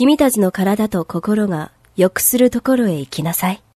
君たちの体と心が良くするところへ行きなさい。